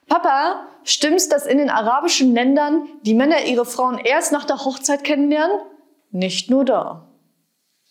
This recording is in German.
Papa, stimmt's, dass in den arabischen Ländern die Männer ihre Frauen erst nach der Hochzeit kennenlernen? Nicht nur da.